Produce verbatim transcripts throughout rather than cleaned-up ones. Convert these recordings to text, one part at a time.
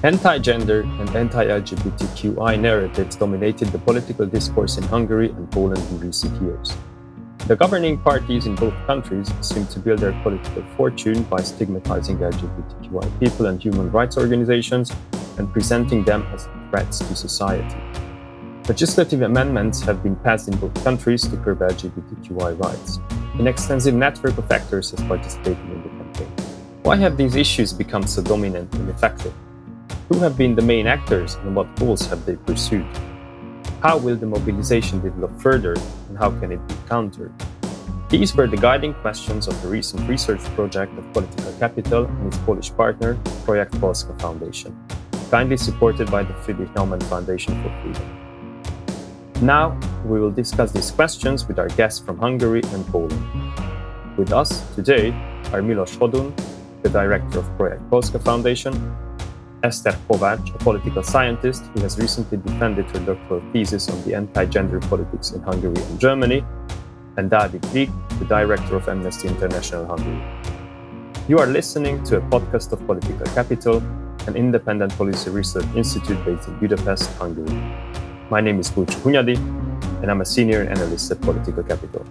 Anti-gender and anti-L G B T Q I narratives dominated the political discourse in Hungary and Poland in recent years. The governing parties in both countries seem to build their political fortune by stigmatizing L G B T Q I people and human rights organizations and presenting them as threats to society. Legislative amendments have been passed in both countries to curb L G B T Q I rights. An extensive network of actors has participated in the campaign. Why have these issues become so dominant and effective? Who have been the main actors and what goals have they pursued? How will the mobilization develop further and how can it be countered? These were the guiding questions of the recent research project of Political Capital and its Polish partner, Projekt Polska Foundation, kindly supported by the Friedrich Naumann Foundation for Freedom. Now, we will discuss these questions with our guests from Hungary and Poland. With us today are Milos Hodun, the director of Projekt Polska Foundation, Eszter Kovács, a political scientist who has recently defended her doctoral thesis on the anti-gender politics in Hungary and Germany, and Dávid Vig, the director of Amnesty International Hungary. You are listening to a podcast of Political Capital, an independent policy research institute based in Budapest, Hungary. My name is Kulcsú Hunyadi, and I'm a senior analyst at Political Capital.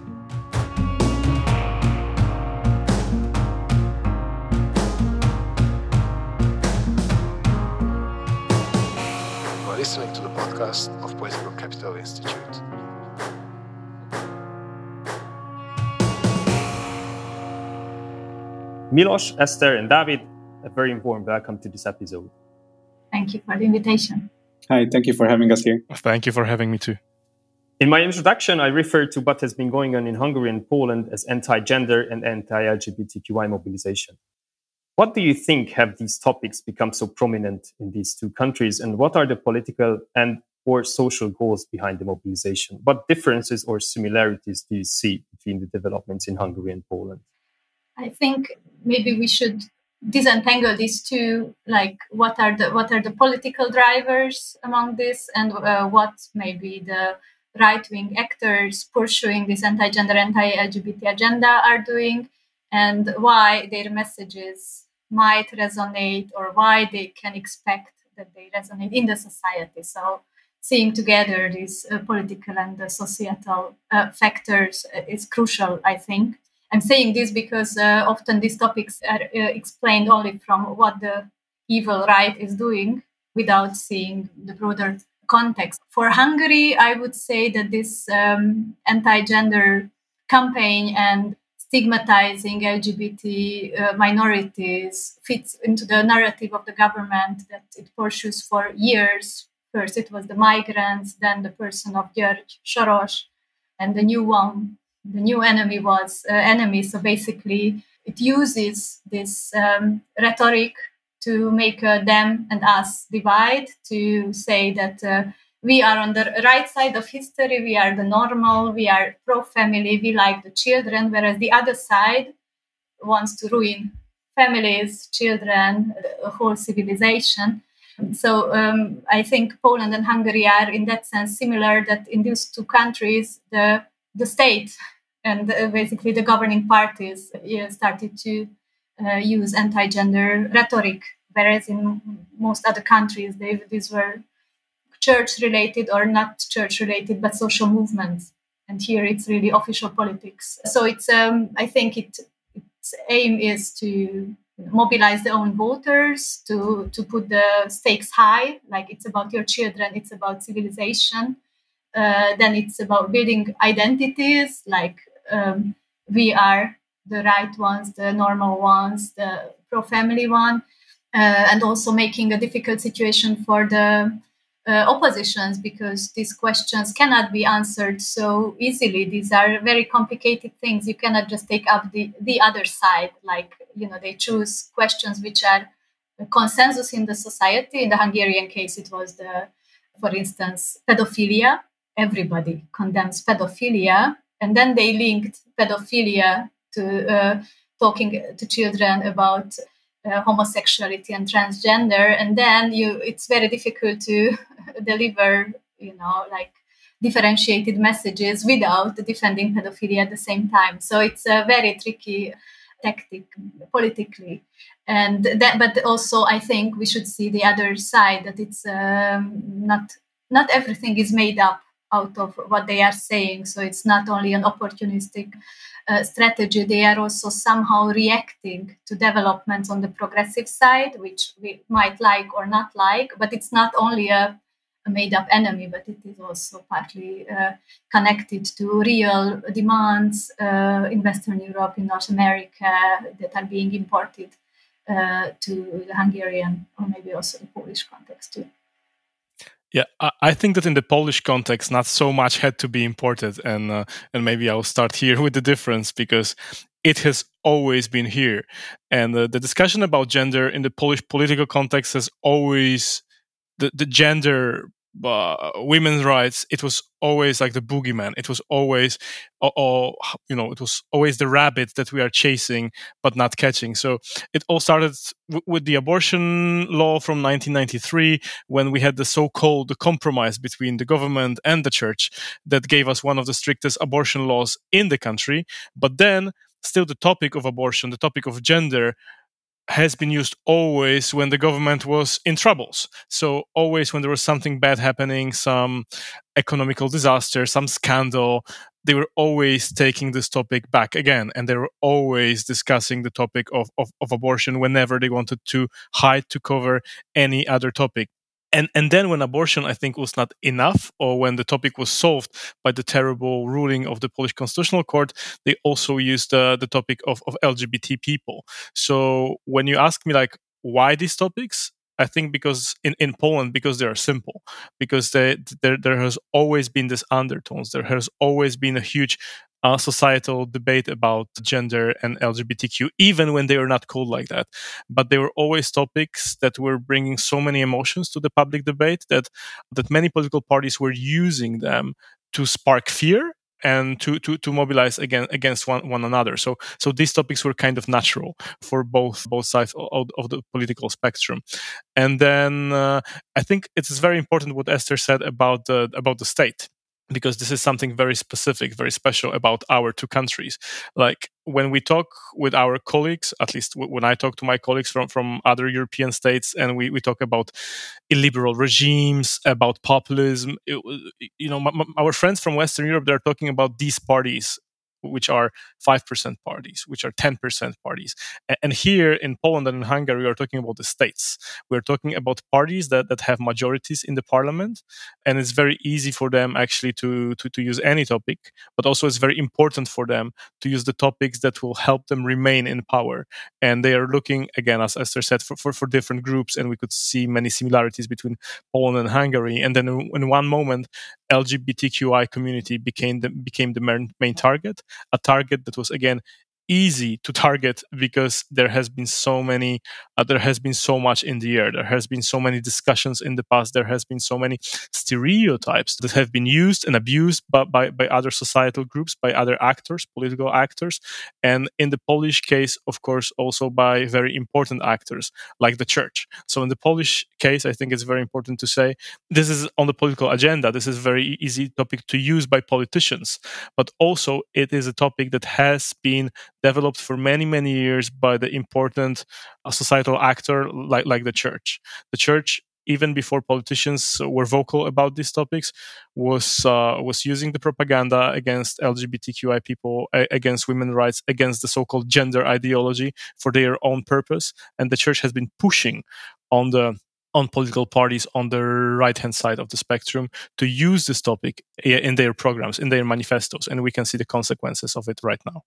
Listening to the podcast of Political Capital Institute. Milos, Eszter, and Dávid, a very warm welcome to this episode. Thank you for the invitation. Hi, thank you for having us here. Thank you for having me too. In my introduction, I referred to what has been going on in Hungary and Poland as anti-gender and anti-L G B T Q I mobilization. What do you think have these topics become so prominent in these two countries, and what are the political and or social goals behind the mobilization? What differences or similarities do you see between the developments in Hungary and Poland? I think maybe we should disentangle these two, like what are the what are the political drivers among this, and uh, what maybe the right-wing actors pursuing this anti-gender, anti-L G B T agenda are doing, and why their messages might resonate or why they can expect that they resonate in the society. So seeing together these uh, political and the societal uh, factors uh, is crucial, I think. I'm saying this because uh, often these topics are uh, explained only from what the evil right is doing without seeing the broader context. For Hungary, I would say that this um, anti-gender campaign and stigmatizing L G B T uh, minorities fits into the narrative of the government that it pursues for years. First, it was the migrants, then the person of György Soros, and the new one, the new enemy was uh, enemy. So basically, it uses this um, rhetoric to make a them and us divide, to say that uh, we are on the right side of history, we are the normal, we are pro-family, we like the children, whereas the other side wants to ruin families, children, a whole civilization. So um, I think Poland and Hungary are in that sense similar, that in these two countries, the the state and uh, basically the governing parties uh, started to uh, use anti-gender rhetoric, whereas in most other countries, they, these were church-related or not church-related, but social movements. And here it's really official politics. So it's, um, I think it, its aim is to mobilize their own voters, to, to put the stakes high, like it's about your children, it's about civilization. Uh, then it's about building identities, like um, we are the right ones, the normal ones, the pro-family one, uh, and also making a difficult situation for the Uh, oppositions, because these questions cannot be answered so easily. These are very complicated things. You cannot just take up the, the other side. Like, you know, they choose questions which are a consensus in the society. In the Hungarian case, it was the, for instance, pedophilia. Everybody condemns pedophilia. And then they linked pedophilia to uh, talking to children about Uh, homosexuality and transgender, and then you it's very difficult to deliver, you know, like differentiated messages without defending pedophilia at the same time. So it's a very tricky tactic politically. And that, but also I think we should see the other side, that it's um, not not everything is made up out of what they are saying. So it's not only an opportunistic uh, strategy. They are also somehow reacting to developments on the progressive side, which we might like or not like. But it's not only a, a made-up enemy, but it is also partly uh, connected to real demands uh, in Western Europe, in North America, that are being imported uh, to the Hungarian or maybe also the Polish context too. Yeah, I think that in the Polish context, not so much had to be imported, and uh, and maybe I'll start here with the difference, because it has always been here, and uh, the discussion about gender in the Polish political context has always the the gender. Uh, women's rights, it was always like the boogeyman. It was always, or, or you know, it was always the rabbit that we are chasing but not catching. So it all started w- with the abortion law from nineteen ninety-three, when we had the so-called the compromise between the government and the church that gave us one of the strictest abortion laws in the country. But then, still, the topic of abortion, the topic of gender, has been used always when the government was in troubles. So always when there was something bad happening, some economical disaster, some scandal, they were always taking this topic back again. And they were always discussing the topic of, of, of abortion whenever they wanted to hide, to cover any other topic. And and then when abortion, I think, was not enough, or when the topic was solved by the terrible ruling of the Polish Constitutional Court, they also used uh, the topic of, of L G B T people. So when you ask me, like, why these topics, I think because in, in Poland, because they are simple, because they, there there has always been this undertones. There has always been a huge uh, societal debate about gender and L G B T Q, even when they were not called like that. But they were always topics that were bringing so many emotions to the public debate that that many political parties were using them to spark fear and to to to mobilize again against one, one another. So so these topics were kind of natural for both both sides of, of the political spectrum. And then uh, I think it's very important what Esther said about the about the state, because this is something very specific, very special about our two countries. Like when we talk with our colleagues, at least w- when I talk to my colleagues from, from other European states, and we, we talk about illiberal regimes, about populism, it, you know, m- m- our friends from Western Europe, they're talking about these parties, which are five percent parties, which are ten percent parties. A- And here in Poland and in Hungary, we are talking about the states. We're talking about parties that, that have majorities in the parliament. And it's very easy for them actually to, to, to use any topic, but also it's very important for them to use the topics that will help them remain in power. And they are looking, again, as Esther said, for, for, for different groups. And we could see many similarities between Poland and Hungary. And then in, in one moment, L G B T Q I community became the, became the main, main target. A target that was, again, easy to target because there has been so many uh, there has been so much in the air. There has been so many discussions in the past. There has been so many stereotypes that have been used and abused by, by, by other societal groups, by other actors, political actors, and in the Polish case, of course, also by very important actors like the church. So in the Polish case, I think it's very important to say this is on the political agenda. This is a very easy topic to use by politicians, but also it is a topic that has been developed for many, many years by the important uh, societal actor like, like the church. The church, even before politicians were vocal about these topics, was uh, was using the propaganda against L G B T Q I people, a- against women's rights, against the so-called gender ideology for their own purpose. And the church has been pushing on the on political parties on the right-hand side of the spectrum to use this topic in their programs, in their manifestos. And we can see the consequences of it right now.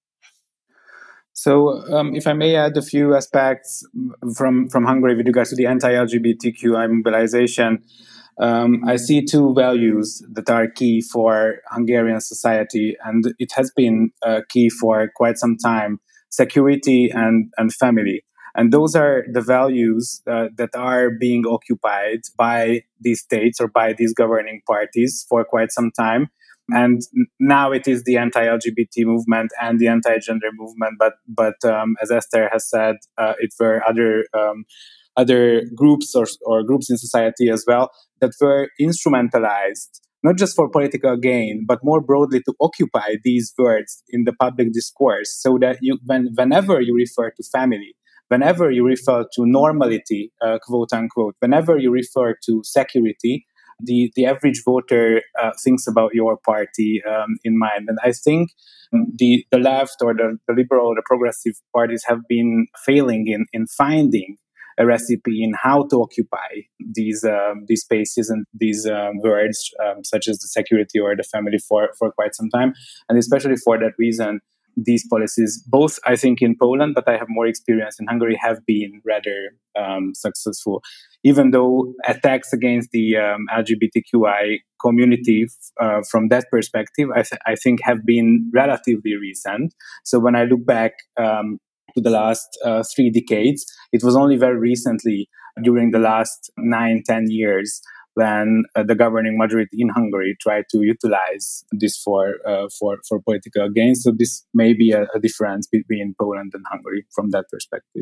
So, um, if I may add a few aspects from, from Hungary with regards to the anti-L G B T Q I mobilization, um, I see two values that are key for Hungarian society, and it has been uh, key for quite some time: security and, and family. And those are the values uh, that are being occupied by these states or by these governing parties for quite some time. And now it is the anti-L G B T movement and the anti-gender movement. But but um, as Esther has said, uh, it were other um, other groups or, or groups in society as well that were instrumentalized not just for political gain, but more broadly to occupy these words in the public discourse, so that you, when, whenever you refer to family, whenever you refer to normality, uh, quote unquote, whenever you refer to security, the, the average voter uh, thinks about your party um, in mind. And I think the, the left or the, the liberal or the progressive parties have been failing in, in finding a recipe in how to occupy these um, these spaces and these um, words, um, such as the security or the family, for, for quite some time. And especially for that reason, these policies, both I think in Poland, but I have more experience in Hungary, have been rather um, successful. Even though attacks against the um, L G B T Q I community uh, from that perspective, I, th- I think have been relatively recent. So when I look back um, to the last uh, three decades, it was only very recently, during the last nine, ten years, when uh, the governing majority in Hungary tried to utilize this for uh, for for political gain. So this may be a, a difference between Poland and Hungary from that perspective.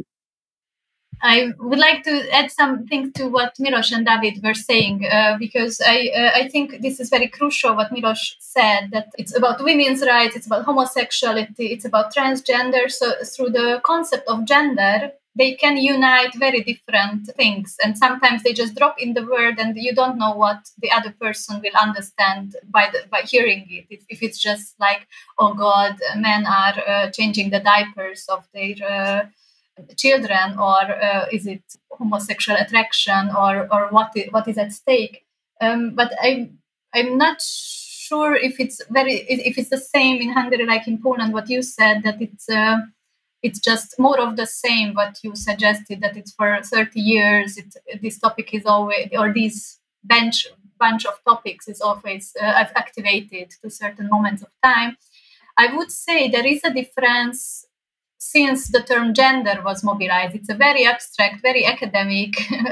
I would like to add something to what Milos and David were saying, uh, because I uh, I think this is very crucial what Milos said, that it's about women's rights, it's about homosexuality, it's about transgender. So through the concept of gender, they can unite very different things. And sometimes they just drop in the word and you don't know what the other person will understand by the, by hearing it. If, if it's just like, oh God, men are uh, changing the diapers of their uh, children, or uh, is it homosexual attraction, or or what is, what is at stake? Um, but I'm I'm not sure if it's very if it's the same in Hungary like in Poland. What you said, that it's uh, it's just more of the same. What you suggested, that it's for thirty years. It, this topic is always, or this bench bunch of topics is always uh, activated to certain moments of time. I would say there is a difference since the term gender was mobilized. It's a very abstract, very academic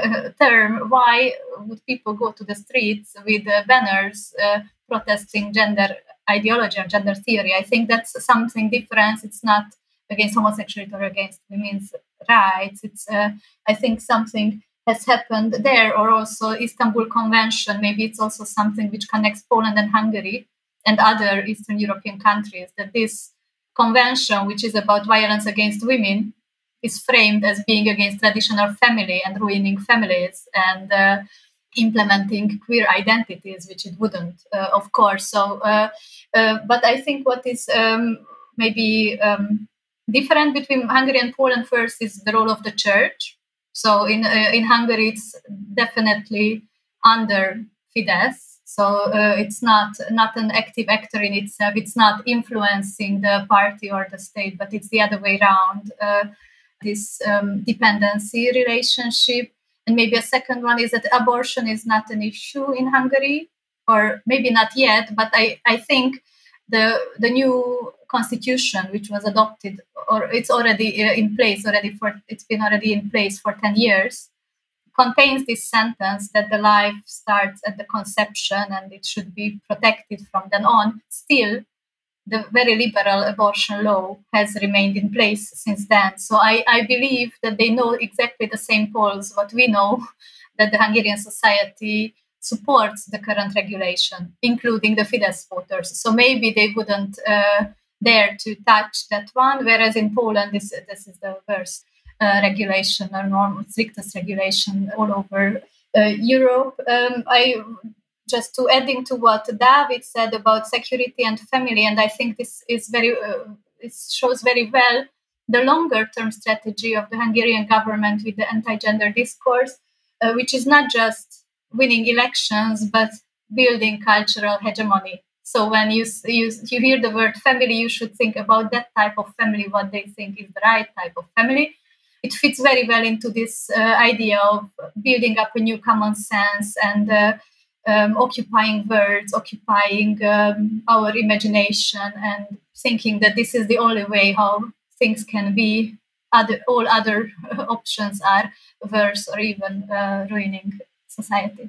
term. Why would people go to the streets with uh, banners uh, protesting gender ideology or gender theory? I think that's something different. It's not against homosexuality or against women's rights. It's, uh, I think, something has happened there, or also Istanbul Convention. Maybe it's also something which connects Poland and Hungary and other Eastern European countries, that this convention, which is about violence against women, is framed as being against traditional family and ruining families and uh, implementing queer identities, which it wouldn't, uh, of course. So, uh, uh, but I think what is um, maybe um, different between Hungary and Poland first is the role of the church. So in uh, in Hungary, it's definitely under Fidesz. So uh, it's not not an active actor in itself. It's not influencing the party or the state, but it's the other way around. Uh, this um, dependency relationship. And maybe a second one is that abortion is not an issue in Hungary, or maybe not yet. But I, I think the the new constitution, which was adopted, or it's already uh, in place already for it's been already in place for ten years. Contains this sentence that the life starts at the conception and it should be protected from then on. Still, the very liberal abortion law has remained in place since then. So I, I believe that they know exactly the same polls what we know, that the Hungarian society supports the current regulation, including the Fidesz voters. So maybe they wouldn't uh, dare to touch that one, whereas in Poland, this, this is the worst. Uh, regulation or normal strictest regulation all over uh, Europe. Um, I just to adding to what David said about security and family, and I think this is very uh, it shows very well the longer term strategy of the Hungarian government with the anti-gender discourse, uh, which is not just winning elections but building cultural hegemony. So when you, you you hear the word family, you should think about that type of family, what they think is the right type of family. It fits very well into this uh, idea of building up a new common sense and uh, um, occupying words, occupying um, our imagination, and thinking that this is the only way how things can be. Other, all other options are worse or even uh, ruining society.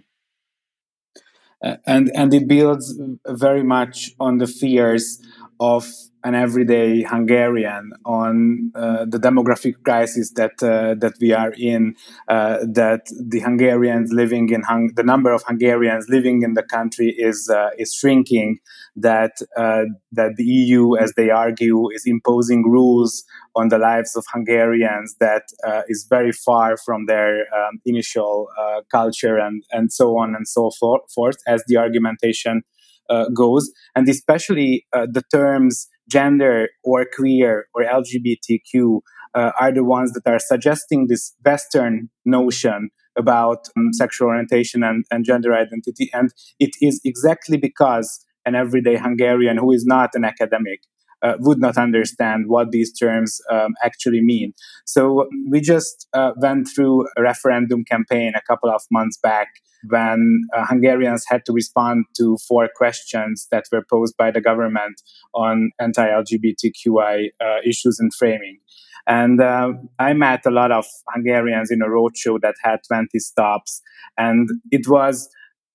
Uh, and and it builds very much on the fears of an everyday Hungarian, on uh, the demographic crisis that uh, that we are in, uh, that the Hungarians living in Hung- the number of Hungarians living in the country is uh, is shrinking, that uh, that the E U, as they argue, is imposing rules on the lives of Hungarians that uh, is very far from their um, initial uh, culture, and and so on and so forth, as the argumentation uh, goes, and especially uh, the terms gender or queer or L G B T Q uh, are the ones that are suggesting this Western notion about um, sexual orientation and, and gender identity. And it is exactly because an everyday Hungarian who is not an academic uh, would not understand what these terms um, actually mean. So we just uh, went through a referendum campaign a couple of months back when uh, Hungarians had to respond to four questions that were posed by the government on anti-L G B T Q I uh, issues and framing. And uh, I met a lot of Hungarians in a roadshow that had twenty stops, and it was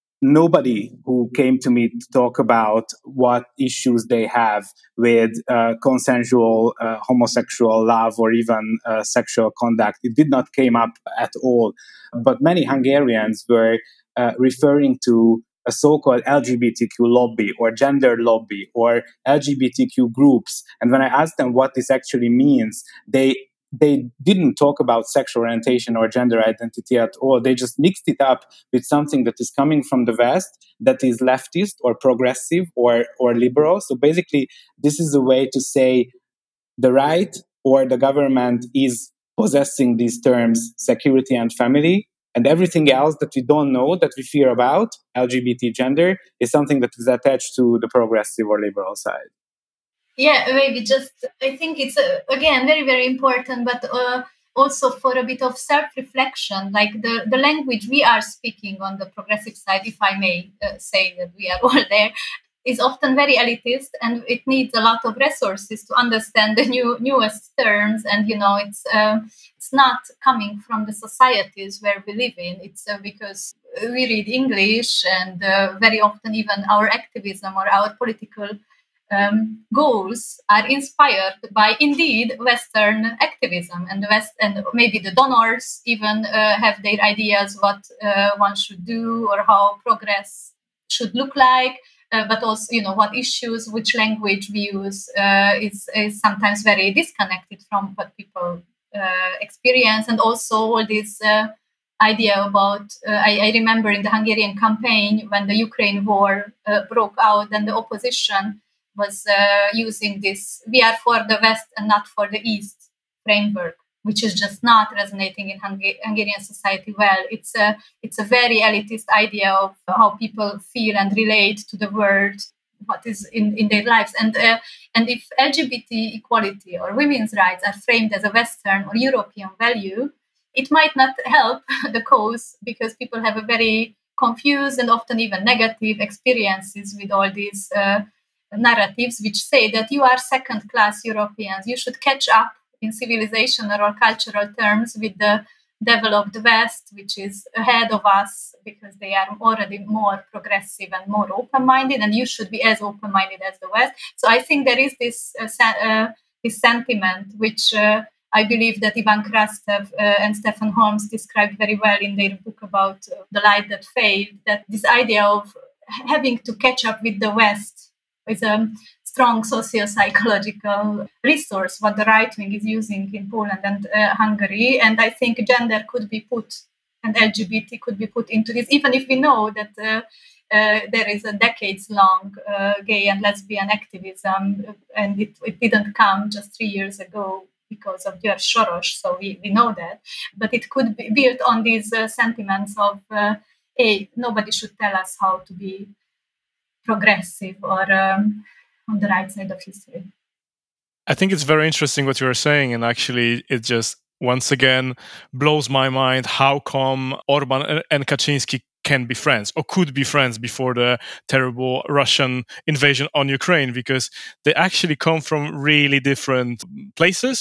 nobody who came to me to talk about what issues they have with uh, consensual uh, homosexual love or even uh, sexual conduct. It did not came up at all. But many Hungarians were uh, referring to a so-called L G B T Q lobby or gender lobby or L G B T Q groups. And when I asked them what this actually means, they they didn't talk about sexual orientation or gender identity at all. They just mixed it up with something that is coming from the West, that is leftist or progressive or, or liberal. So basically, this is a way to say the right or the government is possessing these terms, security and family, and everything else that we don't know, that we fear about, L G B T gender, is something that is attached to the progressive or liberal side. Yeah, maybe just, I think it's, uh, again, very, very important, but uh, also for a bit of self-reflection, like the, the language we are speaking on the progressive side, if I may uh, say that we are all there, is often very elitist, and it needs a lot of resources to understand the new newest terms. And, you know, it's uh, it's not coming from the societies where we live in. It's uh, because we read English, and uh, very often even our activism or our political Um, goals are inspired by indeed Western activism, and the West, and maybe the donors even uh, have their ideas what uh, one should do or how progress should look like. Uh, but also, you know, what issues, which language we use uh, is, is sometimes very disconnected from what people uh, experience, and also all this uh, idea about. Uh, I, I remember in the Hungarian campaign when the Ukraine war uh, broke out, and the opposition was uh, using this "we are for the West and not for the East" framework, which is just not resonating in Hung- Hungarian society well. It's a it's a very elitist idea of how people feel and relate to the world, what is in, in their lives. And uh, and if L G B T equality or women's rights are framed as a Western or European value, it might not help the cause, because people have a very confused and often even negative experiences with all these uh, narratives which say that you are second-class Europeans. You should catch up in civilization or cultural terms with the developed West, which is ahead of us because they are already more progressive and more open-minded, and you should be as open-minded as the West. So I think there is this uh, uh, this sentiment which uh, I believe that Ivan Krastev uh, and Stefan Holmes described very well in their book about uh, The Light That Failed, that this idea of having to catch up with the West is a strong socio-psychological resource what the right wing is using in Poland and uh, Hungary. And I think gender could be put, and L G B T could be put into this, even if we know that uh, uh, there is a decades-long uh, gay and lesbian activism, and it, it didn't come just three years ago because of George Soros, so we, we know that. But it could be built on these uh, sentiments of, uh, hey, nobody should tell us how to be progressive or um, on the right side of history. I think it's very interesting what you are saying, and actually it just once again blows my mind how come Orban and Kaczynski can be friends or could be friends before the terrible Russian invasion on Ukraine, because they actually come from really different places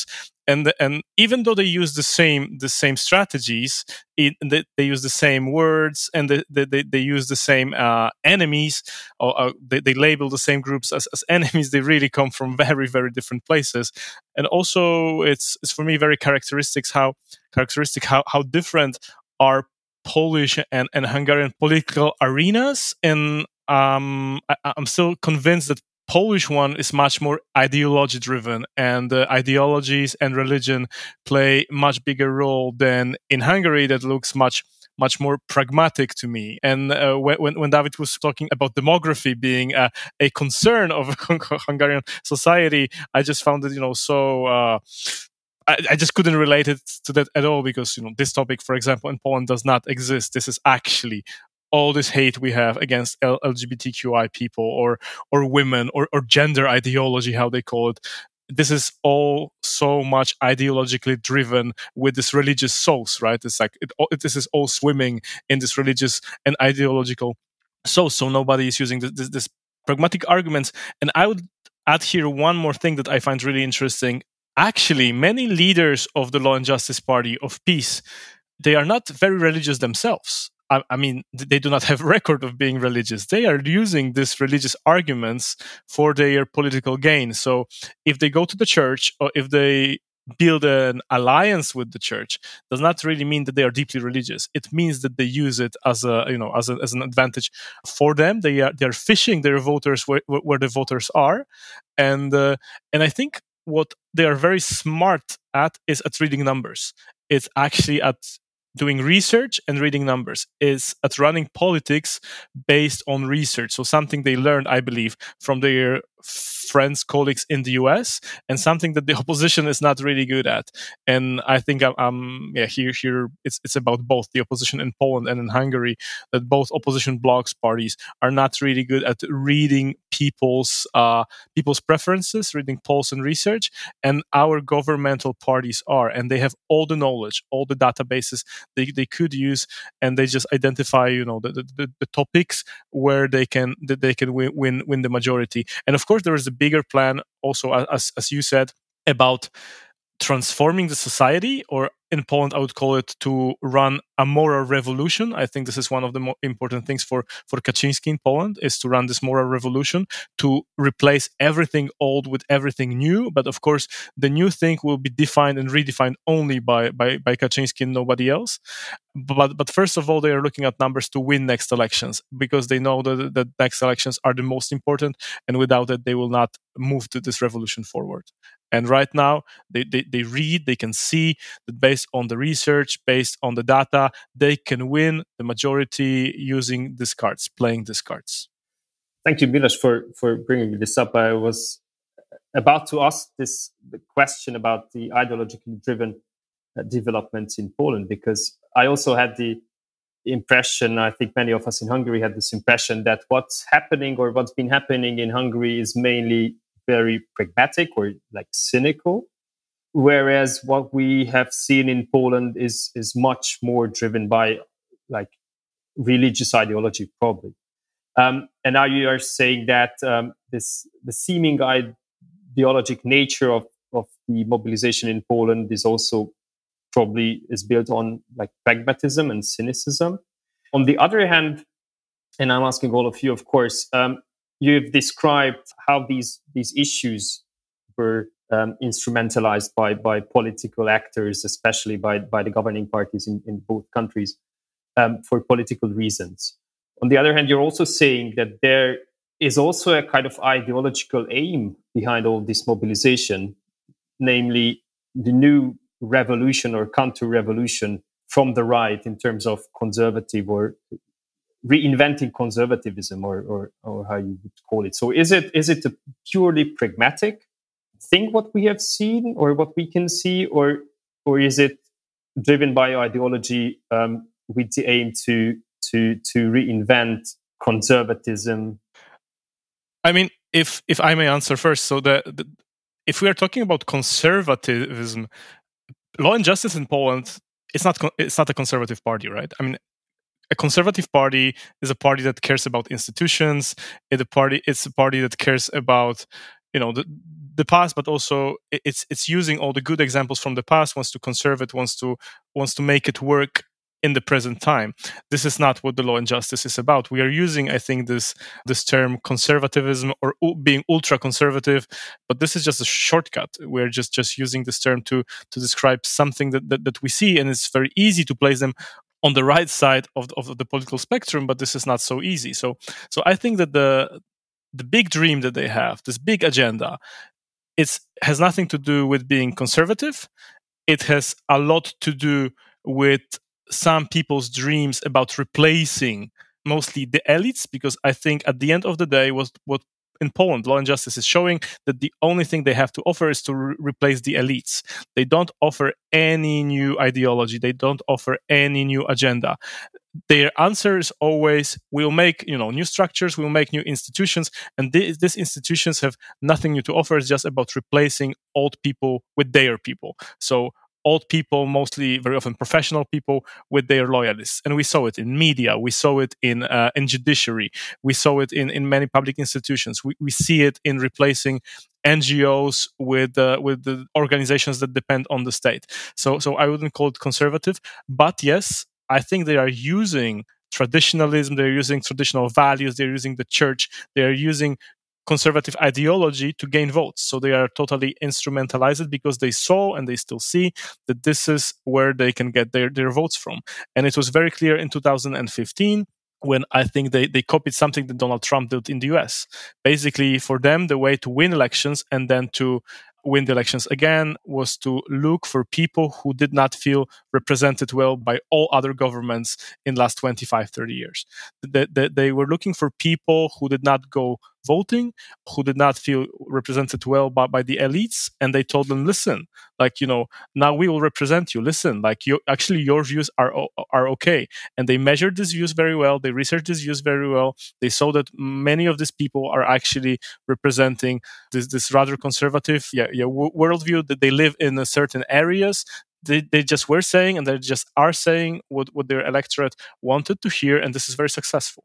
and and even though they use the same the same strategies, it, they, they use the same words, and they they, they use the same uh, enemies, or uh, they, they label the same groups as, as enemies. They really come from very very different places, and also it's it's for me very characteristics how characteristic how how different are Polish and, and Hungarian political arenas, and um, I, I'm still convinced that Polish one is much more ideology driven, and uh, ideologies and religion play much bigger role than in Hungary. That looks much much more pragmatic to me. And uh, when when David was talking about demography being a, a concern of Hungarian society, I just found it, you know, so. Uh, I, I just couldn't relate it to that at all, because, you know, this topic, for example, in Poland does not exist. This is actually all this hate we have against L- LGBTQI people, or or women, or, or gender ideology, how they call it. This is all so much ideologically driven with this religious sauce, right? It's like it, it, this is all swimming in this religious and ideological sauce. So nobody is using this, this, this pragmatic arguments. And I would add here one more thing that I find really interesting. Actually, many leaders of the Law and Justice Party of Peace, they are not very religious themselves. I, I mean, they do not have a record of being religious. They are using these religious arguments for their political gain. So if they go to the church, or if they build an alliance with the church, does not really mean that they are deeply religious. It means that they use it as a, you know, as, a, as an advantage for them. They are they are fishing their voters where, where the voters are, and uh, and I think what they are very smart at is at reading numbers. It's actually at doing research and reading numbers, is at running politics based on research. So something they learned, I believe, from their friends, colleagues in the U S, and something that the opposition is not really good at. And I think I'm, um, yeah, here, here it's it's about both the opposition in Poland and in Hungary, that both opposition blocs parties are not really good at reading people's uh, people's preferences, reading polls and research, and our governmental parties are, and they have all the knowledge, all the databases they, they could use, and they just identify, you know, the, the, the topics where they can that they can win, win win the majority. And of course, there is a bigger plan also, as as you said, about transforming the society, or in Poland, I would call it to run a moral revolution. I think this is one of the more important things for, for Kaczynski in Poland, is to run this moral revolution, to replace everything old with everything new. But of course, the new thing will be defined and redefined only by, by, by Kaczynski and nobody else. But but first of all, they are looking at numbers to win next elections, because they know that the next elections are the most important, and without it, they will not move to this revolution forward. And right now, they, they, they read, they can see that based on the research, based on the data, they can win the majority using these cards, playing these cards. Thank you, Miloš, for, for bringing this up. I was about to ask this the question about the ideologically driven uh, developments in Poland, because I also had the impression, I think many of us in Hungary had this impression, that what's happening or what's been happening in Hungary is mainly very pragmatic or like cynical, whereas what we have seen in Poland is is much more driven by like religious ideology, probably. Um, and now you are saying that um, this the seeming ideologic nature of of the mobilization in Poland is also probably is built on like pragmatism and cynicism. On the other hand, and I'm asking all of you, of course, um, you've described how these these issues were um, instrumentalized by by political actors, especially by by the governing parties in, in both countries, um, for political reasons. On the other hand, you're also saying that there is also a kind of ideological aim behind all this mobilization, namely the new revolution or counter-revolution from the right in terms of conservative or reinventing conservatism, or, or or how you would call it. So is it is it a purely pragmatic thing what we have seen or what we can see, or or is it driven by ideology um, with the aim to to to reinvent conservatism? I mean, if if I may answer first, so the, the if we are talking about conservatism, Law and Justice in Poland, it's not it's not a conservative party, right? I mean, a conservative party is a party that cares about institutions. It's a party. It's a party that cares about, you know, the the past, but also it's it's using all the good examples from the past, wants to conserve it, wants to wants to make it work in the present time. This is not what the Law and Justice is about. We are using, I think, this this term conservatism or u- being ultra conservative, but this is just a shortcut. We're just just using this term to to describe something that that, that we see, and it's very easy to place them on the right side of the, of the political spectrum, but this is not so easy. So so I think that the the big dream that they have, this big agenda, it has nothing to do with being conservative. It has a lot to do with some people's dreams about replacing mostly the elites, because I think at the end of the day, was what in Poland, Law and Justice is showing that the only thing they have to offer is to re- replace the elites. They don't offer any new ideology. They don't offer any new agenda. Their answer is always, we'll make, you know, new structures, we'll make new institutions, and th- these institutions have nothing new to offer. It's just about replacing old people with their people. So old people, mostly very often professional people, with their loyalists. And we saw it in media, we saw it in uh, in judiciary, we saw it in, in many public institutions. We, we see it in replacing N G Os with uh, with the organizations that depend on the state. So so I wouldn't call it conservative, but yes, I think they are using traditionalism, they're using traditional values, they're using the church, they're using conservative ideology to gain votes. So they are totally instrumentalized because they saw and they still see that this is where they can get their, their votes from. And it was very clear in two thousand fifteen when I think they, they copied something that Donald Trump did in the U S. Basically, for them, the way to win elections and then to win the elections again was to look for people who did not feel represented well by all other governments in the last twenty-five, thirty years. They, they, they were looking for people who did not go voting, who did not feel represented well by, by the elites, and they told them, listen, like, you know, now we will represent you. Listen, like, you actually your views are are okay. And they measured these views very well. They researched these views very well. They saw that many of these people are actually representing this this rather conservative, yeah, yeah, w- worldview, that they live in a certain areas. They, they just were saying, and they just are saying what, what their electorate wanted to hear, and this is very successful.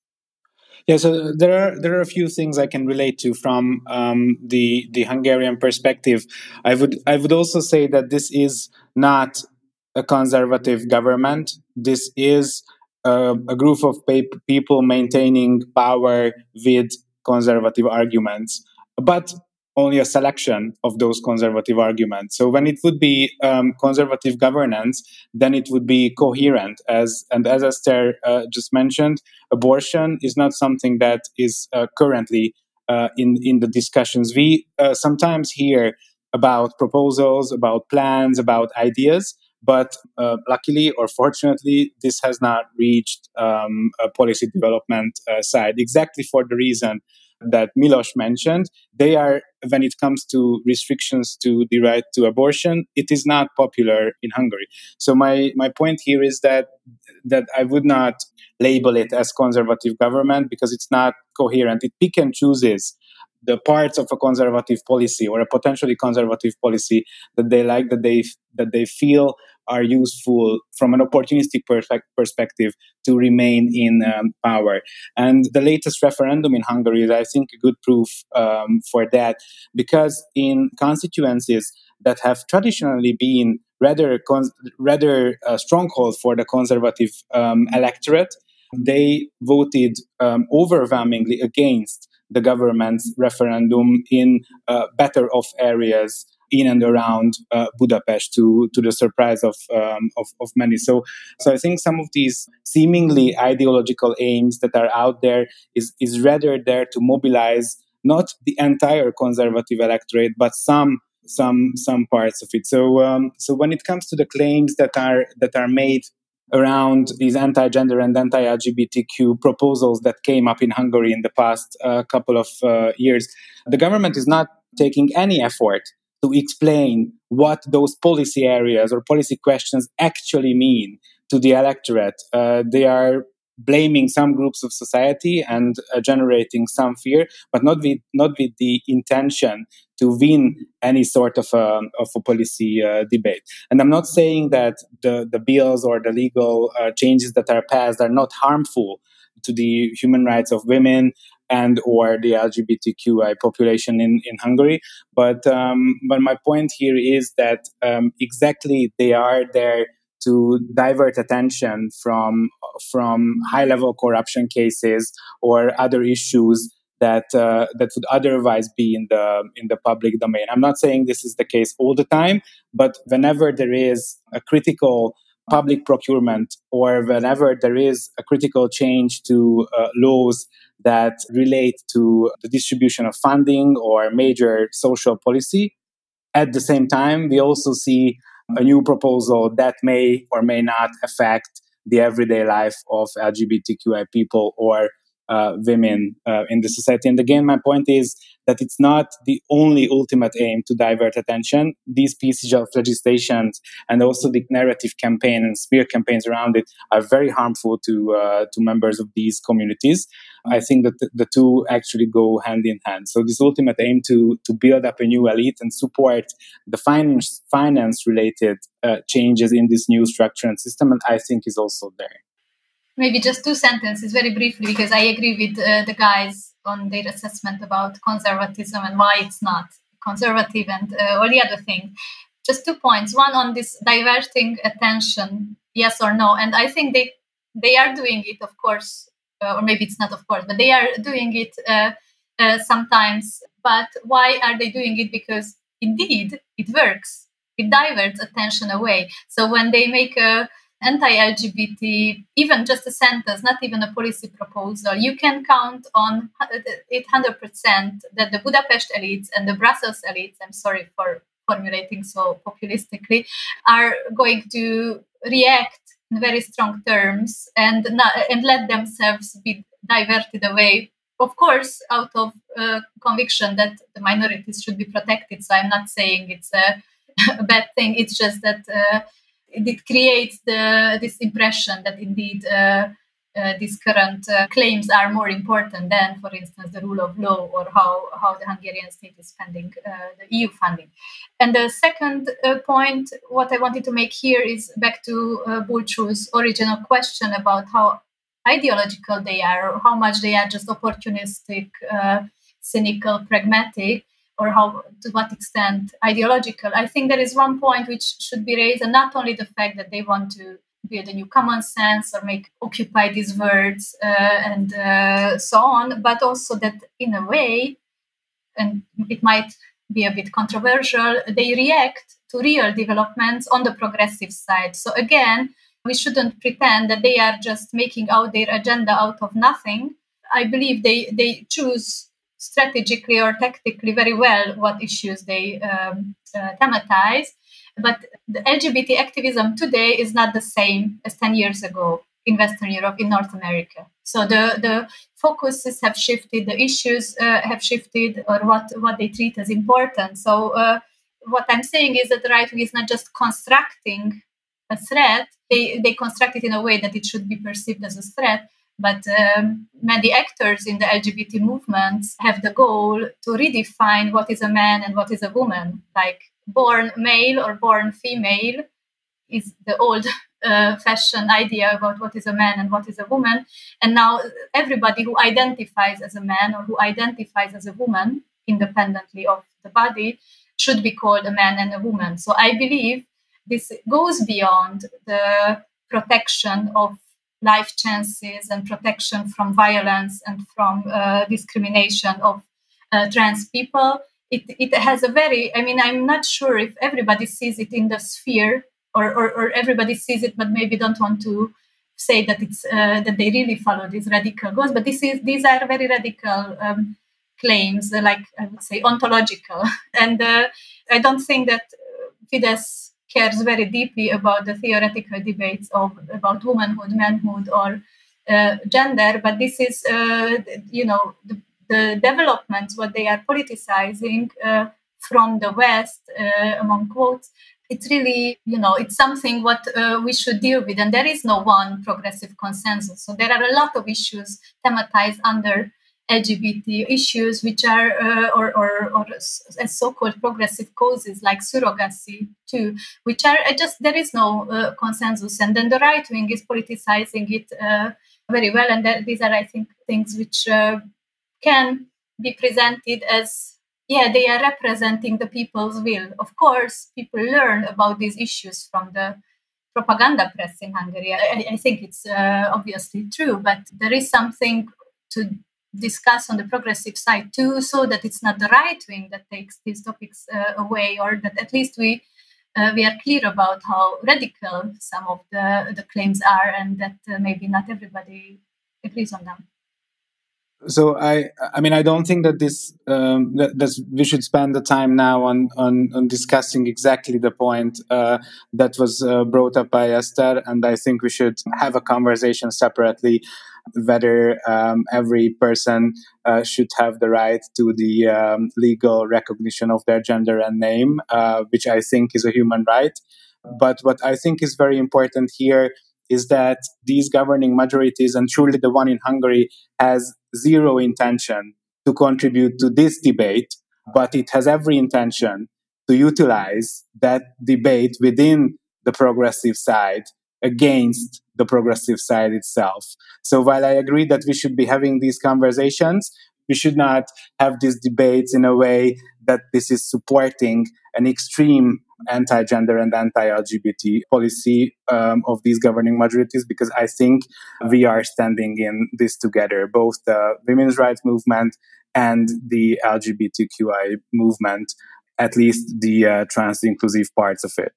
Yeah, so there are there are a few things I can relate to from um, the the Hungarian perspective. I would I would also say that this is not a conservative government. This is a, a group of pa- people maintaining power with conservative arguments, but only a selection of those conservative arguments. So when it would be um, conservative governance, then it would be coherent. As and as Esther uh, just mentioned, abortion is not something that is uh, currently uh, in in the discussions. We uh, sometimes hear about proposals, about plans, about ideas, but uh, luckily or fortunately, this has not reached um, a policy development uh, side, exactly for the reason that Milos mentioned. They are, when it comes to restrictions to the right to abortion, it is not popular in Hungary. So my, my point here is that that I would not label it as conservative government because it's not coherent. It pick and chooses the parts of a conservative policy or a potentially conservative policy that they like, that they that they feel are useful from an opportunistic perspe- perspective to remain in um, power. And the latest referendum in Hungary is, I think, a good proof um, for that, because in constituencies that have traditionally been rather con- rather a stronghold for the conservative um, electorate, they voted um, overwhelmingly against the government's referendum in uh, better off areas in and around uh, Budapest, to to the surprise of, um, of of many. So, so I think some of these seemingly ideological aims that are out there is is rather there to mobilize not the entire conservative electorate, but some some some parts of it. So um, so when it comes to the claims that are that are made around these anti-gender and anti-L G B T Q proposals that came up in Hungary in the past uh, couple of uh, years, the government is not taking any effort to explain what those policy areas or policy questions actually mean to the electorate. Uh, they are blaming some groups of society and uh, generating some fear, but not with not with the intention to win any sort of a, of a policy uh, debate. And I'm not saying that the, the bills or the legal uh, changes that are passed are not harmful to the human rights of women and or the L G B T Q I population in, in Hungary. But um, but my point here is that um, exactly they are there to divert attention from from high level corruption cases or other issues that uh, that would otherwise be in the in the public domain. I'm not saying this is the case all the time, but whenever there is a critical public procurement or whenever there is a critical change to uh, laws that relate to the distribution of funding or major social policy, at the same time, we also see a new proposal that may or may not affect the everyday life of L G B T Q I people or uh, women uh, in the society. And again, my point is that it's not the only ultimate aim to divert attention. These pieces of legislation and also the narrative campaign and smear campaigns around it are very harmful to uh, to members of these communities. I think that the, the two actually go hand in hand. So this ultimate aim to to build up a new elite and support the finance finance related uh, changes in this new structure and system, and I think is also there. Maybe just two sentences very briefly, because I agree with uh, the guys on their assessment about conservatism and why it's not conservative and uh, all the other things. Just two points. One on this diverting attention, yes or no. And I think they they are doing it, of course, uh, or maybe it's not of course, but they are doing it uh, uh, sometimes. But why are they doing it? Because indeed it works. It diverts attention away. So when they make a anti-L G B T, even just a sentence, not even a policy proposal, you can count on it one hundred percent that the Budapest elites and the Brussels elites, I'm sorry for formulating so populistically, are going to react in very strong terms and not, and let themselves be diverted away, of course, out of uh, conviction that the minorities should be protected. So I'm not saying it's a, a bad thing. It's just that uh, it creates the this impression that indeed uh, uh, these current uh, claims are more important than, for instance, the rule of law or how, how the Hungarian state is spending uh, the E U funding. And the second uh, point, what I wanted to make here is back to uh, Bulcsú's original question about how ideological they are, or how much they are just opportunistic, uh, cynical, pragmatic, or how to what extent ideological. I think there is one point which should be raised, and not only the fact that they want to build a new common sense or make occupy these words uh, and uh, so on, but also that in a way, and it might be a bit controversial, they react to real developments on the progressive side. So again, we shouldn't pretend that they are just making out their agenda out of nothing. I believe they, they choose strategically or tactically very well what issues they um, uh, thematize. But the L G B T activism today is not the same as ten years ago in Western Europe, in North America. So the, the focuses have shifted, the issues uh, have shifted, or what, what they treat as important. So uh, what I'm saying is that the right wing is not just constructing a threat, they, they construct it in a way that it should be perceived as a threat. But um, many actors in the L G B T movements have the goal to redefine what is a man and what is a woman. Like born male or born female is the old uh, fashioned idea about what is a man and what is a woman. And now everybody who identifies as a man or who identifies as a woman, independently of the body, should be called a man and a woman. So I believe this goes beyond the protection of life chances and protection from violence and from uh, discrimination of uh, trans people. It, it has a very, I mean, I'm not sure if everybody sees it in the sphere or, or, or everybody sees it, but maybe don't want to say that it's uh, that they really follow these radical goals. But this is these are very radical um, claims, uh, like I would say ontological. And uh, I don't think that Fidesz cares very deeply about the theoretical debates of about womanhood, manhood, or uh, gender. But this is, uh, you know, the, the developments, what they are politicizing uh, from the West, uh, among quotes. It's really, you know, it's something what uh, we should deal with. And there is no one progressive consensus. So there are a lot of issues thematized under L G B T issues, which are, uh, or, or, or as so-called progressive causes like surrogacy too, which are uh, just, there is no uh, consensus. And then the right wing is politicizing it uh, very well. And that, these are, I think, things which uh, can be presented as, yeah, they are representing the people's will. Of course, people learn about these issues from the propaganda press in Hungary. I, I think it's uh, obviously true, but there is something to discuss on the progressive side too, so that it's not the right wing that takes these topics uh, away, or that at least we uh, we are clear about how radical some of the, the claims are, and that uh, maybe not everybody agrees on them. So I, I mean, I don't think that this um, that, that we should spend the time now on on, on discussing exactly the point uh, that was uh, brought up by Esther, and I think we should have a conversation separately whether um, every person uh, should have the right to the um, legal recognition of their gender and name, uh, which I think is a human right. But what I think is very important here is that these governing majorities, and truly the one in Hungary, has zero intention to contribute to this debate, but it has every intention to utilize that debate within the progressive side against the progressive side itself. So while I agree that we should be having these conversations, we should not have these debates in a way that this is supporting an extreme anti-gender and anti-L G B T policy um, of these governing majorities, because I think we are standing in this together, both the women's rights movement and the L G B T Q I movement, at least the uh, trans-inclusive parts of it.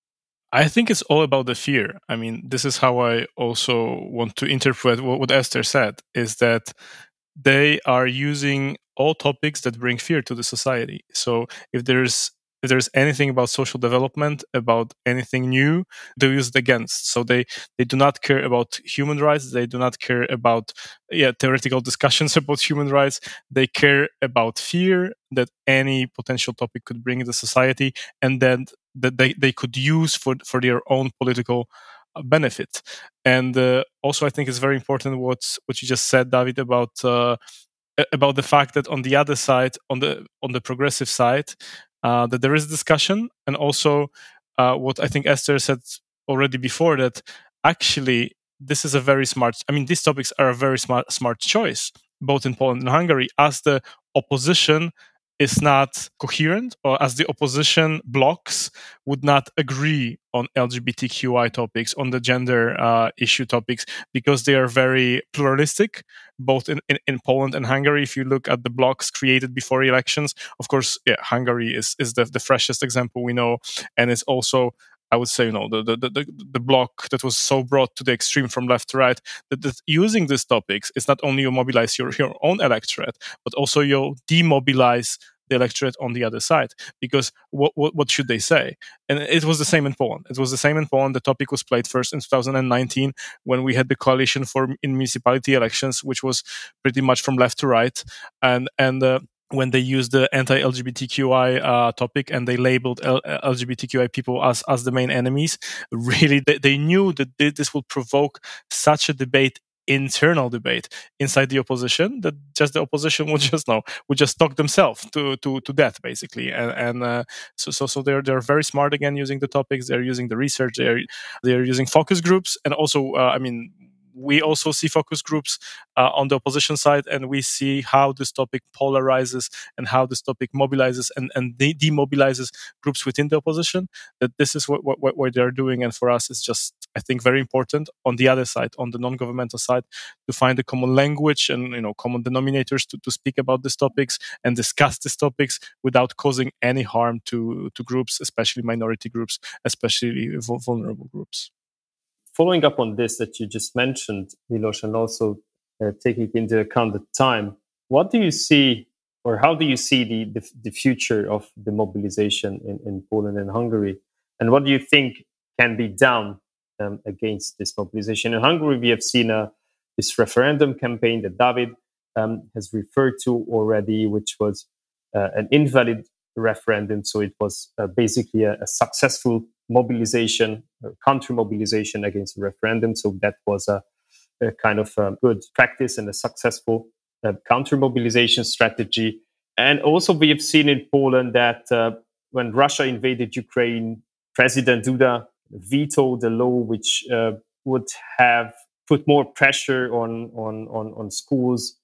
I think it's all about the fear. I mean, this is how I also want to interpret what, what Esther said, is that they are using all topics that bring fear to the society. So if there's if there's anything about social development, about anything new, they use it against. So they, they do not care about human rights. They do not care about yeah, theoretical discussions about human rights. They care about fear that any potential topic could bring in the society, and then that they, they could use for, for their own political benefit. And uh, also, I think it's very important what what you just said, David, about uh, about the fact that on the other side, on the on the progressive side, uh, that there is discussion, and also uh, what I think Esther said already before, that actually this is a very smart. I mean, these topics are a very smart smart choice, both in Poland and Hungary, as the opposition is not coherent, or as the opposition blocks would not agree on L G B T Q I topics, on the gender uh, issue topics, because they are very pluralistic, both in, in, in Poland and Hungary. If you look at the blocks created before elections, of course, yeah, Hungary is, is the, the freshest example we know, and it's also, I would say, you know, the, the, the, the block that was so brought to the extreme from left to right, that, that using these topics is not only you mobilize your, your own electorate, but also you demobilize the electorate on the other side. Because what, what what should they say? And it was the same in Poland. It was the same in Poland. The topic was played first in two thousand nineteen when we had the coalition for in municipality elections, which was pretty much from left to right, and and. Uh, when they used the anti-L G B T Q I uh, topic and they labeled L- LGBTQI people as, as the main enemies, really, they, they knew that this would provoke such a debate, internal debate inside the opposition, that just the opposition would just know would just talk themselves to to to death, basically. And and uh, so so so they're they're very smart again using the topics. They're using the research. They're they're using focus groups, and also uh, I mean. We also see focus groups uh, on the opposition side, and we see how this topic polarizes and how this topic mobilizes and, and de- demobilizes groups within the opposition. That this is what, what, what they're doing. And for us, it's just, I think, very important on the other side, on the non-governmental side, to find a common language and, you know, common denominators to, to speak about these topics and discuss these topics without causing any harm to, to groups, especially minority groups, especially vulnerable groups. Following up on this that you just mentioned, Milos, and also uh, taking into account the time, what do you see, or how do you see the, the, the future of the mobilization in, in Poland and Hungary? And what do you think can be done um, against this mobilization? In Hungary, we have seen a, this referendum campaign that David um, has referred to already, which was uh, an invalid referendum. So it was uh, basically a, a successful mobilization, counter mobilization against a referendum. So that was a, a kind of a good practice and a successful uh, counter mobilization strategy. And also we have seen in Poland that uh, when Russia invaded Ukraine, President Duda vetoed a law which uh, would have put more pressure on, on, on, on schools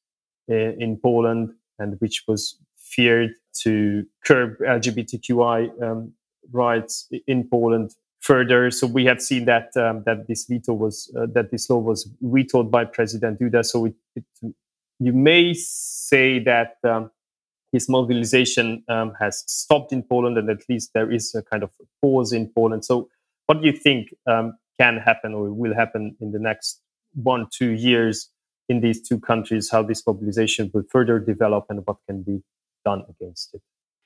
in, in Poland, and which was feared to curb L G B T Q I um, rights in Poland further. So we have seen that um, that this veto was uh, that this law was vetoed by President Duda. So it, it, you may say that um, his mobilization um, has stopped in Poland, and at least there is a kind of pause in Poland. So what do you think um, can happen or will happen in the next one, two years in these two countries, how this mobilization will further develop and what can be done against it?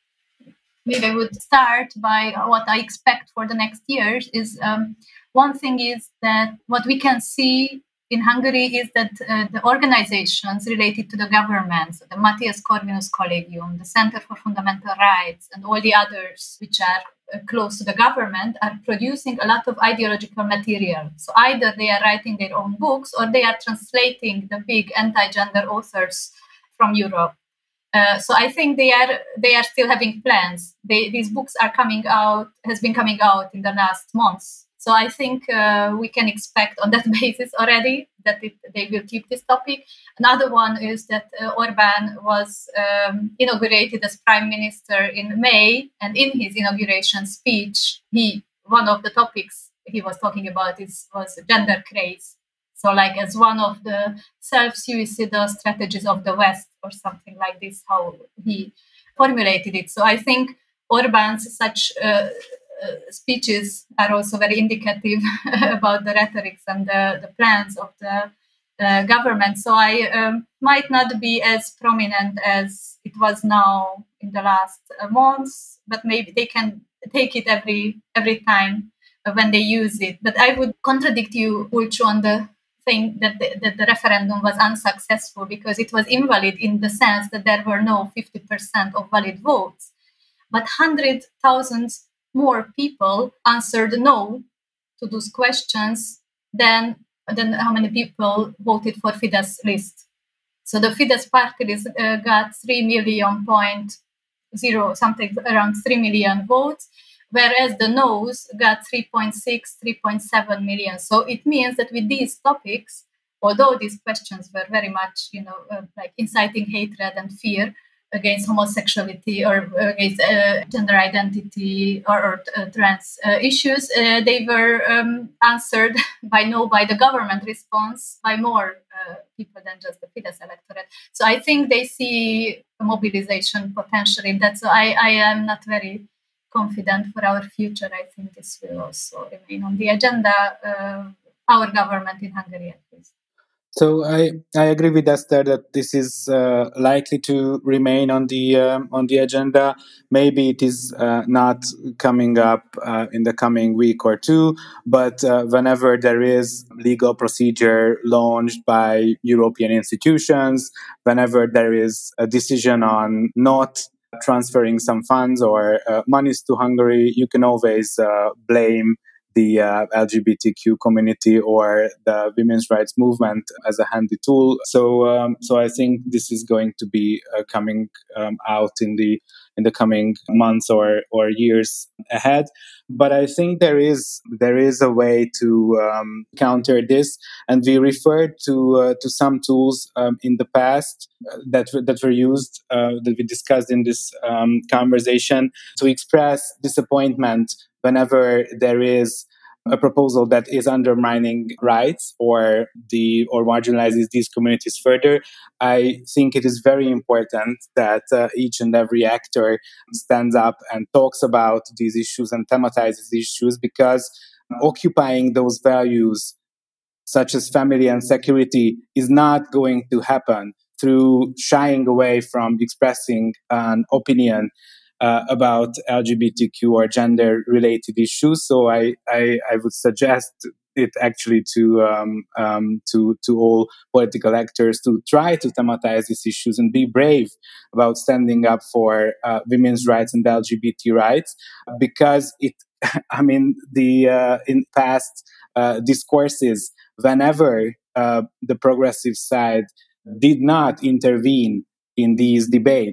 Maybe I would start by what I expect for the next years is um, one thing is that what we can see in Hungary is that uh, the organizations related to the government, so the Matthias Corvinus Collegium, the Center for Fundamental Rights, and all the others which are uh, close to the government, are producing a lot of ideological material. So either they are writing their own books or they are translating the big anti-gender authors from Europe. Uh, so I think they are they are still having plans. They, these books are coming out, has been coming out in the last months. So I think uh, we can expect on that basis already that it, they will keep this topic. Another one is that uh, Orbán was um, inaugurated as prime minister in May, and in his inauguration speech, he one of the topics he was talking about is was gender craze. So, like as one of the self-suicidal strategies of the West, or something like this, how he formulated it. So, I think Orbán's such uh, uh, speeches are also very indicative about the rhetorics and the, the plans of the uh, government. So, I um, might not be as prominent as it was now in the last uh, months, but maybe they can take it every every time when they use it. But I would contradict you, Ulcho, on the thing that the, that the referendum was unsuccessful because it was invalid in the sense that there were no fifty percent of valid votes. But one hundred thousand more people answered no to those questions than, than how many people voted for Fidesz list. So the Fidesz party list uh, got three million point zero, something around three million votes, whereas the no's got three point six, three point seven million. So it means that with these topics, although these questions were very much, you know, uh, like inciting hatred and fear against homosexuality or against uh, gender identity or, or uh, trans uh, issues, uh, they were um, answered by no by the government response by more uh, people than just the Fidesz electorate. So I think they see a mobilization potential in that. So I, I am not very confident for our future. I think this will also remain on the agenda, uh, our government in Hungary at least. So I, I agree with Esther that this is uh, likely to remain on the um, on the agenda. Maybe it is uh, not coming up uh, in the coming week or two, but uh, whenever there is legal procedure launched by European institutions, whenever there is a decision on not transferring some funds or uh, monies to Hungary, you can always uh, blame the uh, L G B T Q community or the women's rights movement as a handy tool. So, um, so I think this is going to be uh, coming um, out in the in the coming months or or years ahead. But I think there is there is a way to um, counter this, and we referred to uh, to some tools um, in the past uh, that that were used uh, that we discussed in this um, conversation to express disappointment whenever there is a proposal that is undermining rights or the or marginalizes these communities further. I think it is very important that uh, each and every actor stands up and talks about these issues and thematizes these issues, because occupying those values such as family and security is not going to happen through shying away from expressing an opinion Uh, about L G B T Q or gender-related issues. So I, I, I would suggest it actually to um, um, to to all political actors to try to thematize these issues and be brave about standing up for uh, women's rights and L G B T rights, because it. I mean, the uh, in past uh, discourses, whenever uh, the progressive side did not intervene in these debates,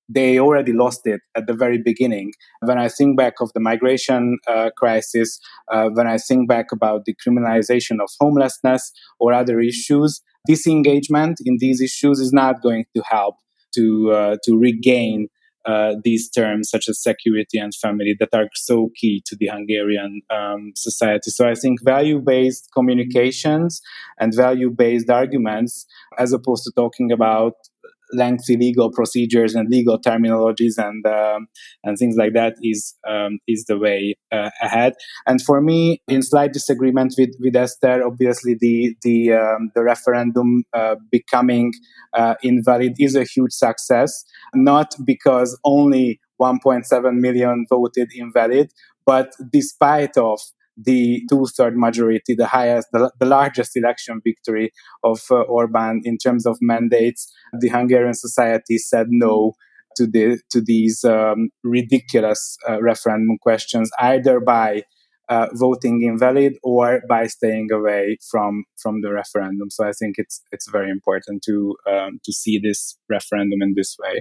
they already lost it at the very beginning. When I think back of the migration uh, crisis, uh, when I think back about the criminalization of homelessness or other issues, disengagement in these issues is not going to help to uh, to regain uh, these terms such as security and family that are so key to the Hungarian um, society. So I think value-based communications and value-based arguments, as opposed to talking about lengthy legal procedures and legal terminologies and um, and things like that, is um, is the way uh, ahead. And for me, in slight disagreement with, with Esther, obviously the the um, the referendum uh, becoming uh, invalid is a huge success, not because only one point seven million voted invalid, but despite of the two-third majority, the highest, the, the largest election victory of uh, Orbán in terms of mandates, the Hungarian society said no to the to these um, ridiculous uh, referendum questions, either by uh, voting invalid or by staying away from from the referendum. So I think it's it's very important to um, to see this referendum in this way.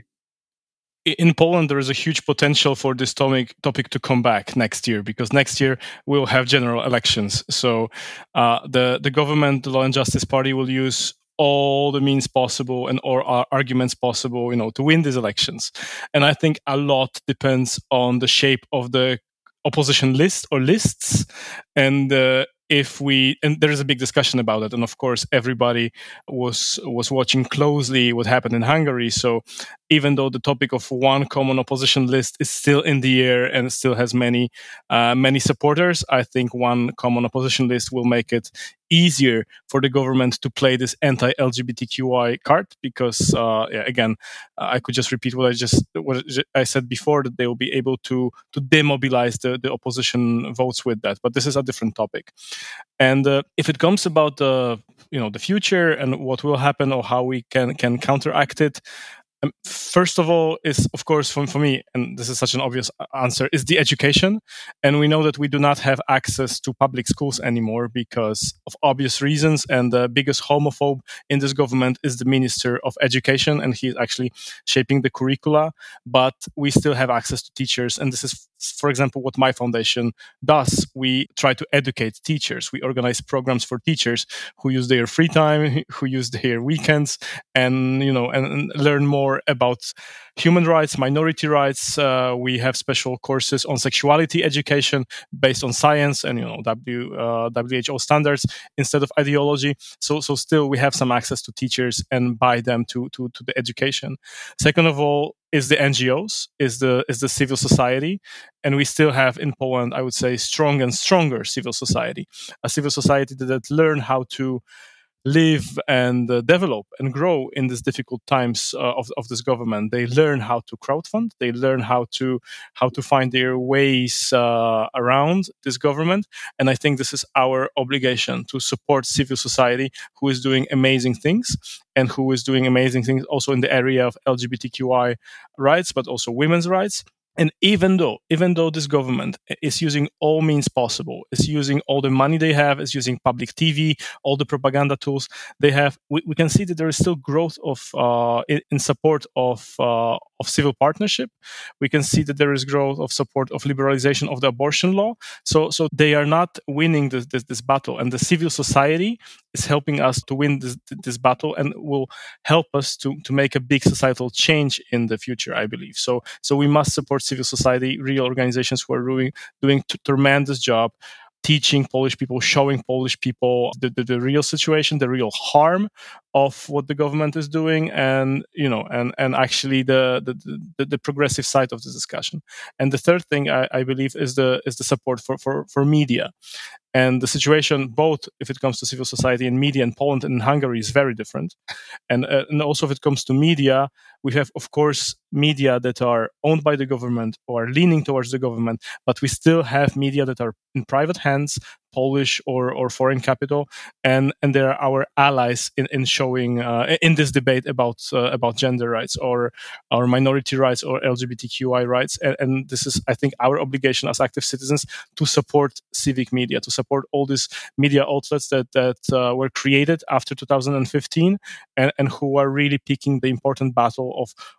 In Poland, there is a huge potential for this topic, topic to come back next year, because next year we'll have general elections. So uh, the, the government, the Law and Justice Party, will use all the means possible and or uh, arguments possible, you know, to win these elections. And I think a lot depends on the shape of the opposition list or lists. And uh, if we, and there is a big discussion about it, and of course everybody was was watching closely what happened in Hungary. So even though the topic of one common opposition list is still in the air and still has many uh, many supporters, I think one common opposition list will make it easier for the government to play this anti-L G B T Q I card, because uh, yeah, again, uh, I could just repeat what I just what I said before, that they will be able to to demobilize the, the opposition votes with that. But this is a different topic. And uh, if it comes about the you know the future and what will happen or how we can can counteract it, Um, first of all, is of course for, for me, and this is such an obvious answer, is the education. And we know that we do not have access to public schools anymore because of obvious reasons. And the biggest homophobe in this government is the Minister of Education, and he is actually shaping the curricula. But we still have access to teachers, and this is, for example, what my foundation does. We try to educate teachers. We organize programs for teachers who use their free time, who use their weekends, and you know, and, and learn more about human rights, minority rights. Uh, we have special courses on sexuality education based on science and you know W uh, W H O standards instead of ideology. So so still we have some access to teachers and by them to to to the education. Second of all, is the N G Os, is the is the civil society, and we still have in Poland, I would say, strong and stronger civil society, a civil society that, that learn how to live and uh, develop and grow in these difficult times uh, of, of this government. They learn how to crowdfund. They learn how to how to find their ways uh, around this government. And I think this is our obligation to support civil society, who is doing amazing things and who is doing amazing things also in the area of L G B T Q I rights, but also women's rights. And even though, even though this government is using all means possible, is using all the money they have, is using public T V, all the propaganda tools they have, we, we can see that there is still growth of uh, in, in support of uh, of civil partnership. We can see that there is growth of support of liberalization of the abortion law. So, so they are not winning this this, this battle, and the civil society is helping us to win this this battle, and will help us to to make a big societal change in the future, I believe. So, so we must support civil society, real organizations who are doing doing t- tremendous job teaching Polish people, showing Polish people the, the, the real situation, the real harm of what the government is doing, and you know, and and actually the the, the, the progressive side of the discussion. And the third thing I, I believe is the is the support for, for, for media. And the situation, both if it comes to civil society and media in Poland and in Hungary, is very different. And, uh, and also if it comes to media, we have, of course, media that are owned by the government or are leaning towards the government, but we still have media that are in private hands, Polish or, or foreign capital, and, and they're our allies in, in showing uh, in this debate about uh, about gender rights or our minority rights or L G B T Q I rights. And, and this is, I think, our obligation as active citizens to support civic media, to support all these media outlets that that uh, were created after two thousand fifteen and, and who are really picking the important battle of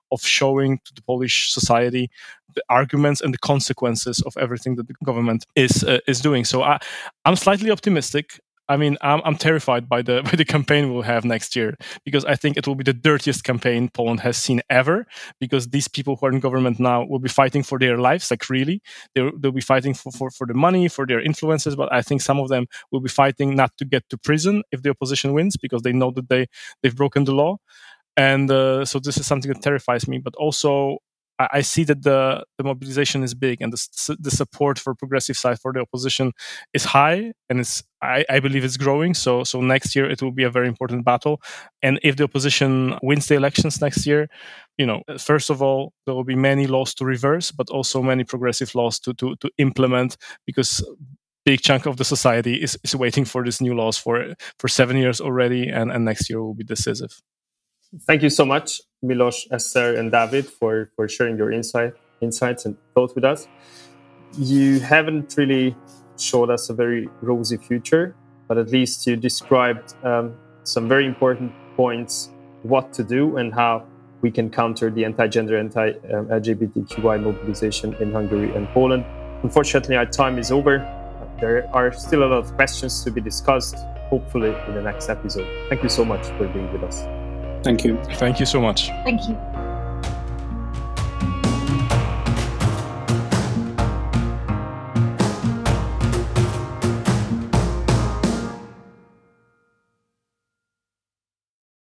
of showing to the Polish society the arguments and the consequences of everything that the government is uh, is doing. So I, I'm slightly optimistic. I mean, I'm, I'm terrified by the by the campaign we'll have next year, because I think it will be the dirtiest campaign Poland has seen ever, because these people who are in government now will be fighting for their lives, like really. They'll, they'll be fighting for, for, for the money, for their influences, but I think some of them will be fighting not to get to prison if the opposition wins, because they know that they, they've broken the law. And uh, so this is something that terrifies me, but also I see that the, the mobilization is big, and the, the support for progressive side for the opposition is high, and it's I, I believe it's growing. So so next year it will be a very important battle. And if the opposition wins the elections next year, you know, first of all, there will be many laws to reverse, but also many progressive laws to to, to implement, because big chunk of the society is, is waiting for these new laws for for seven years already, and, and next year will be decisive. Thank you so much, Milos, Esther, and David, for, for sharing your insight, insights and thoughts with us. You haven't really showed us a very rosy future, but at least you described um, some very important points, what to do and how we can counter the anti-gender, anti-L G B T Q I mobilization in Hungary and Poland. Unfortunately, our time is over. There are still a lot of questions to be discussed, hopefully in the next episode. Thank you so much for being with us. Thank you. Thank you so much. Thank you.